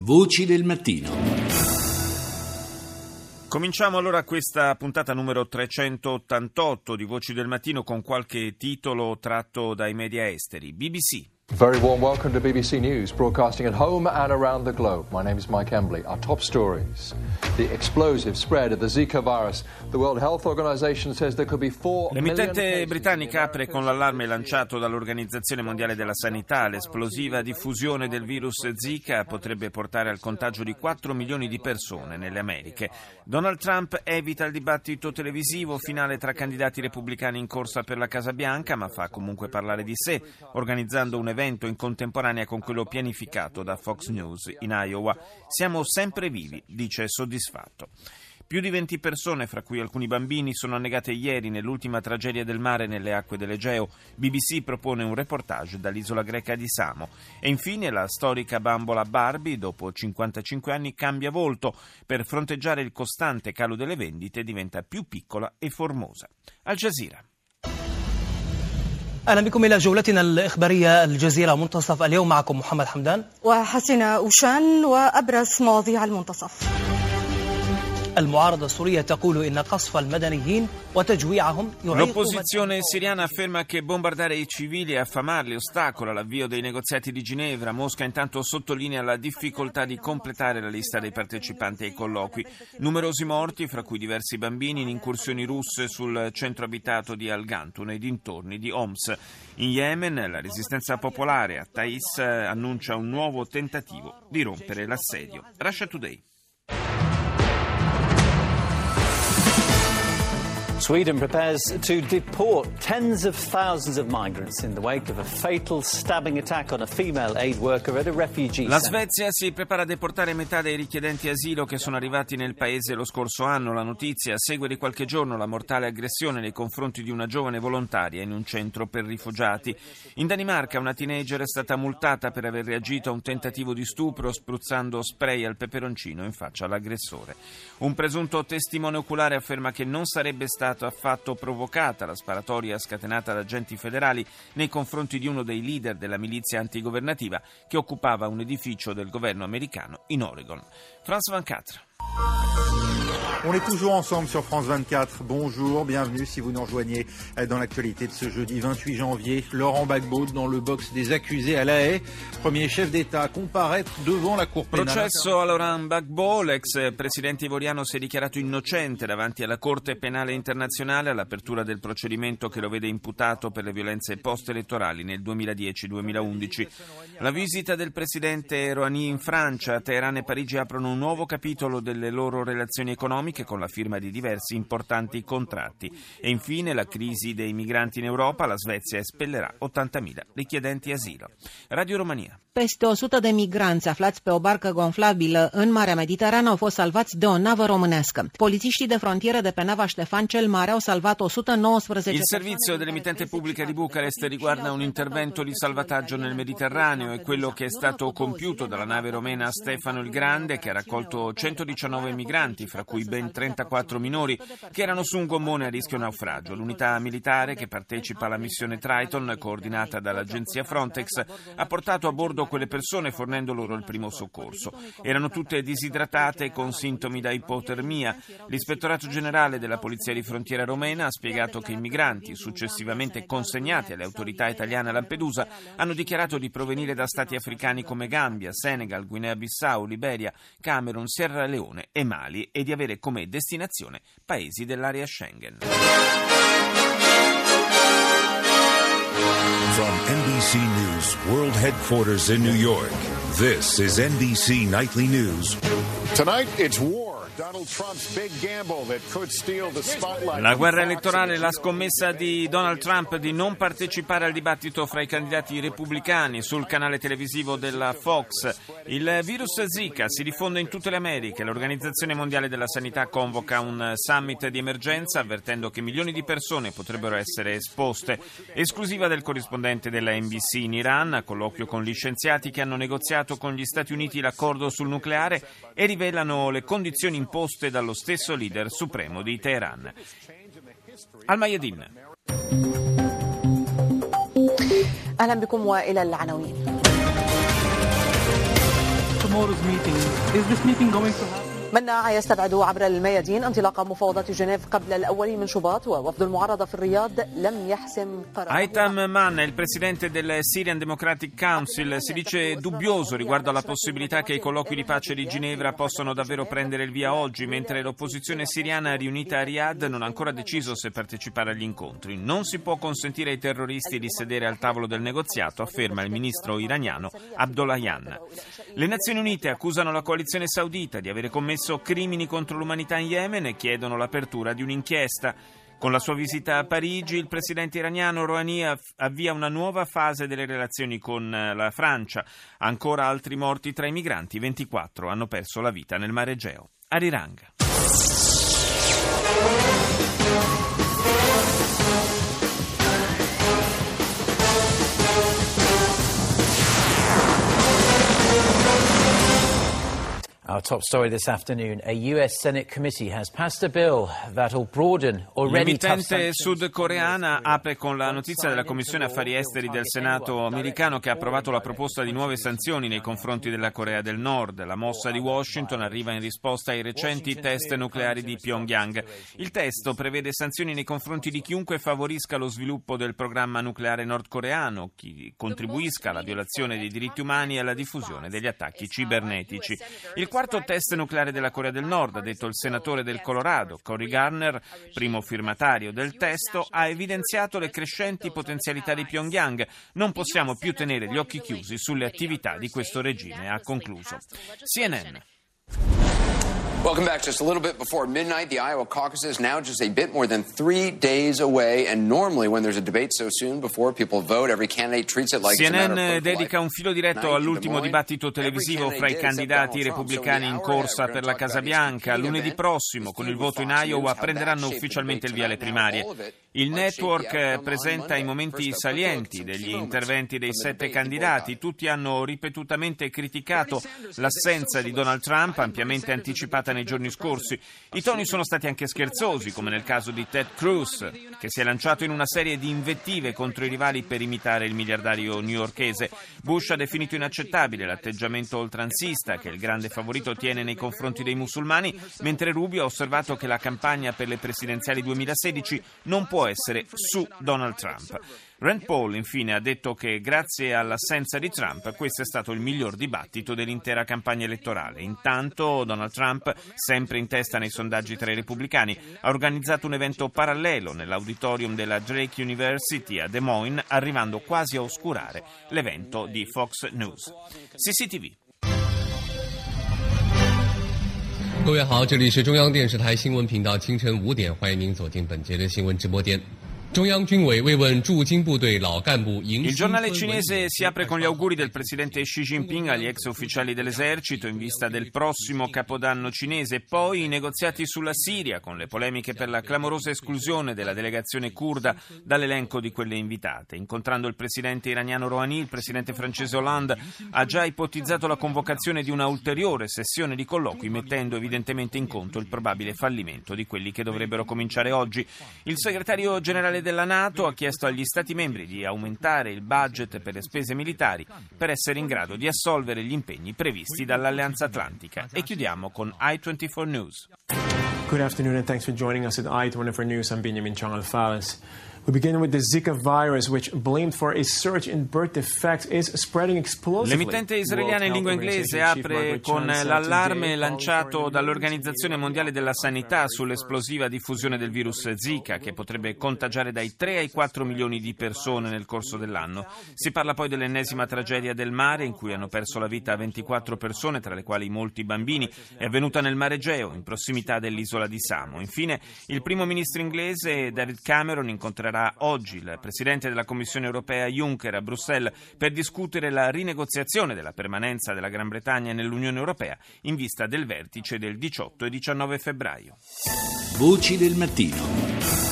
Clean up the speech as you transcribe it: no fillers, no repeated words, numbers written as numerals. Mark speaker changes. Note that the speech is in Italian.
Speaker 1: Voci del mattino.
Speaker 2: Cominciamo allora questa puntata numero 388 di Voci del Mattino con qualche titolo tratto dai media esteri. BBC.
Speaker 3: Very warm welcome to BBC News, broadcasting at home and around the globe. My name is Mike Embley. Our top stories. The explosive spread of the Zika virus. The World Health Organization says there could be 4 million
Speaker 2: L'emittente britannica apre con l'allarme lanciato dall'Organizzazione Mondiale della Sanità. L'esplosiva diffusione del virus Zika potrebbe portare al contagio di 4 milioni di persone nelle Americhe. Donald Trump evita il dibattito televisivo finale tra candidati repubblicani in corsa per la Casa Bianca, ma fa comunque parlare di sé, organizzando un evento in contemporanea con quello pianificato da Fox News in Iowa. Siamo sempre vivi, dice soddisfatto. Più di 20 persone, fra cui alcuni bambini, sono annegate ieri nell'ultima tragedia del mare nelle acque dell'Egeo. BBC propone un reportage dall'isola greca di Samo. E infine la storica bambola Barbie, dopo 55 anni, cambia volto. Per fronteggiare il costante calo delle vendite diventa più piccola e formosa. Al Jazeera.
Speaker 4: أهلا بكم إلى جولتنا الإخبارية الجزيرة منتصف اليوم. معكم محمد حمدان
Speaker 5: وحسن أوشان وأبرز مواضيع المنتصف.
Speaker 4: المعارضة السورية تقول إن قصف المدنيين وتجويعهم
Speaker 2: L'opposizione siriana afferma che bombardare i civili e affamarli ostacola l'avvio dei negoziati di Ginevra. Mosca intanto sottolinea la difficoltà di completare la lista dei partecipanti ai colloqui. Numerosi morti, fra cui diversi bambini, in incursioni russe sul centro abitato di Al-Ghantun nei dintorni di Homs. In Yemen la resistenza popolare a Taiz annuncia un nuovo tentativo di rompere l'assedio. Russia Today.
Speaker 6: Sweden prepares to deport tens of thousands of migrants in the wake of a fatal stabbing attack on a female aid worker at a refugee
Speaker 2: La
Speaker 6: center.
Speaker 2: Svezia si prepara a deportare metà dei richiedenti asilo che sono arrivati nel paese lo scorso anno. La notizia segue di qualche giorno la mortale aggressione nei confronti di una giovane volontaria in un centro per rifugiati. In Danimarca una teenager è stata multata per aver reagito a un tentativo di stupro spruzzando spray al peperoncino in faccia all'aggressore. Un presunto testimone oculare afferma che non sarebbe stato affatto provocata la sparatoria scatenata da agenti federali nei confronti di uno dei leader della milizia antigovernativa che occupava un edificio del governo americano in Oregon. France 24.
Speaker 7: On est toujours ensemble sur France 24. Bonjour, bienvenue si vous nous rejoignez dans l'actualité de ce jeudi 28 janvier. Laurent Gbagbo dans le box des accusés à La Haye, premier chef d'État à comparaître devant la Cour pénale.
Speaker 2: Processo a Laurent Gbagbo, l'ex presidente ivoriano si è dichiarato innocente davanti alla Corte Penale Internazionale all'apertura del procedimento che lo vede imputato per le violenze post-elettorali nel 2010-2011. La visita del presidente Rouhani in Francia, Teheran e Parigi aprono un nuovo capitolo delle loro relazioni economiche con la firma di diversi importanti contratti. E infine la crisi dei migranti in Europa, la Svezia espellerà 80.000 richiedenti asilo. Radio Romania.
Speaker 8: Peste 100 de migranți aflați pe o barcă gonflabilă în Marea Mediterană au fost salvați de o navă românească. Polițiștii de frontieră de pe nava Ștefan cel Mare au salvat 119
Speaker 2: Il servizio dell'emittente pubblica di Bucarest riguarda un intervento di salvataggio nel Mediterraneo e quello che è stato compiuto dalla nave romena Stefano il Grande, che ha raccolto 119 migranti, fra cui ben 34 minori, che erano su un gommone a rischio naufragio. L'unità militare che partecipa alla missione Triton, coordinata dall'agenzia Frontex, ha portato a bordo quelle persone fornendo loro il primo soccorso. Erano tutte disidratate con sintomi da ipotermia. L'ispettorato generale della Polizia di Frontiera romena ha spiegato che i migranti, successivamente consegnati alle autorità italiane a Lampedusa, hanno dichiarato di provenire da stati africani come Gambia, Senegal, Guinea-Bissau, Liberia, Camerun, Sierra Leone e Mali e di avere come destinazione paesi dell'area Schengen.
Speaker 9: From NBC News World Headquarters in New York, this is NBC Nightly News.
Speaker 10: Tonight, it's war. Donald Trump's big gamble that could steal the spotlight.
Speaker 2: La guerra elettorale, la scommessa di Donald Trump di non partecipare al dibattito fra i candidati repubblicani sul canale televisivo della Fox. Il virus Zika si diffonde in tutte le Americhe. L'Organizzazione Mondiale della Sanità convoca un summit di emergenza avvertendo che milioni di persone potrebbero essere esposte. Esclusiva del corrispondente della NBC in Iran, a colloquio con gli scienziati che hanno negoziato con gli Stati Uniti l'accordo sul nucleare e rivelano le condizioni imposte dallo stesso leader supremo di Teheran. Al-Mayadin.
Speaker 5: أهلا بكم وإلى العناوين.
Speaker 4: tomorrow's meeting. Is this meeting going to happen?
Speaker 1: منع يستبعد عبر الميادين انطلاق مفاوضات جنيف قبل الأول من شباط ووفد المعارضة في الرياض لم يحسم قرار.
Speaker 2: Aitam Manna, il presidente del Syrian Democratic Council, si dice dubbioso riguardo alla possibilità che i colloqui di pace di Ginevra possano davvero prendere il via oggi, mentre l'opposizione siriana riunita a Riyadh non ha ancora deciso se partecipare agli incontri. Non si può consentire ai terroristi di sedere al tavolo del negoziato, afferma il ministro iraniano Abdollahian. Le Nazioni Unite accusano la coalizione saudita di avere commesso crimini contro l'umanità in Yemen e chiedono l'apertura di un'inchiesta. Con la sua visita a Parigi, il presidente iraniano Rouhani avvia una nuova fase delle relazioni con la Francia. Ancora altri morti tra i migranti, 24 hanno perso la vita nel Mar Egeo. Arirang.
Speaker 6: Our top story this afternoon, a US Senate committee has passed a bill that will broaden already tough
Speaker 2: L'emittente
Speaker 6: sanctions.
Speaker 2: sudcoreana apre con la notizia della Commissione Affari Esteri del Senato americano che ha approvato la proposta di nuove sanzioni nei confronti della Corea del Nord. La mossa di Washington arriva in risposta ai recenti test nucleari di Pyongyang. Il testo prevede sanzioni nei confronti di chiunque favorisca lo sviluppo del programma nucleare nordcoreano, chi contribuisca alla violazione dei diritti umani e alla diffusione degli attacchi cibernetici. Il quarto test nucleare della Corea del Nord, ha detto il senatore del Colorado, Cory Gardner, primo firmatario del testo, ha evidenziato le crescenti potenzialità di Pyongyang. Non possiamo più tenere gli occhi chiusi sulle attività di questo regime, ha concluso. CNN.
Speaker 11: Welcome back. Just a little bit before midnight, the Iowa caucus is now just a bit more than 3 days away. And normally when there's a debate so soon before people vote, every candidate treats it like it's a matter of
Speaker 2: CNN
Speaker 11: political
Speaker 2: dedica un filo diretto all'ultimo dibattito televisivo fra i candidati repubblicani in corsa per la Casa Bianca. Lunedì prossimo, con il voto in Iowa, prenderanno ufficialmente il via le primarie. Il network presenta i momenti salienti degli interventi dei 7 candidati. Tutti hanno ripetutamente criticato l'assenza di Donald Trump, ampiamente anticipata nei giorni scorsi. I toni sono stati anche scherzosi, come nel caso di Ted Cruz, che si è lanciato in una serie di invettive contro i rivali per imitare il miliardario newyorkese. Bush ha definito inaccettabile l'atteggiamento oltranzista che il grande favorito tiene nei confronti dei musulmani, mentre Rubio ha osservato che la campagna per le presidenziali 2016 non può essere su Donald Trump. Rand Paul, infine, ha detto che grazie all'assenza di Trump questo è stato il miglior dibattito dell'intera campagna elettorale. Intanto Donald Trump, sempre in testa nei sondaggi tra i repubblicani, ha organizzato un evento parallelo nell'auditorium della Drake University a Des Moines, arrivando quasi a oscurare l'evento di Fox News. CCTV.
Speaker 12: 各位好，这里是中央电视台新闻频道，清晨5点，欢迎您走进本节的新闻直播间。 Il
Speaker 2: giornale cinese si apre con gli auguri del presidente Xi Jinping agli ex ufficiali dell'esercito in vista del prossimo capodanno cinese, poi i negoziati sulla Siria con le polemiche per la clamorosa esclusione della delegazione curda dall'elenco di quelle invitate. Incontrando il presidente iraniano Rouhani, il presidente francese Hollande ha già ipotizzato la convocazione di una ulteriore sessione di colloqui, mettendo evidentemente in conto il probabile fallimento di quelli che dovrebbero cominciare oggi. Il segretario generale della NATO ha chiesto agli Stati membri di aumentare il budget per le spese militari per essere in grado di assolvere gli impegni previsti dall'Alleanza Atlantica. E chiudiamo con I24 News.
Speaker 13: Good afternoon and thanks for joining us at I24 News. I'm Benjamin Chang Al-Falas. We begin with the Zika virus, which, blamed for a surge in birth defects, is spreading explosively.
Speaker 2: L'emittente israeliana in lingua inglese apre con l'allarme lanciato dall'Organizzazione Mondiale della Sanità sull'esplosiva diffusione del virus Zika, che potrebbe contagiare dai 3 ai 4 milioni di persone nel corso dell'anno. Si parla poi dell'ennesima tragedia del mare, in cui hanno perso la vita 24 persone, tra le quali molti bambini. È avvenuta nel Mar Egeo, in prossimità dell'isola di Samo. Infine, il primo ministro inglese David Cameron incontrerà oggi il presidente della Commissione europea Juncker a Bruxelles per discutere la rinegoziazione della permanenza della Gran Bretagna nell'Unione Europea in vista del vertice del 18 e 19 febbraio.
Speaker 14: Voci del mattino.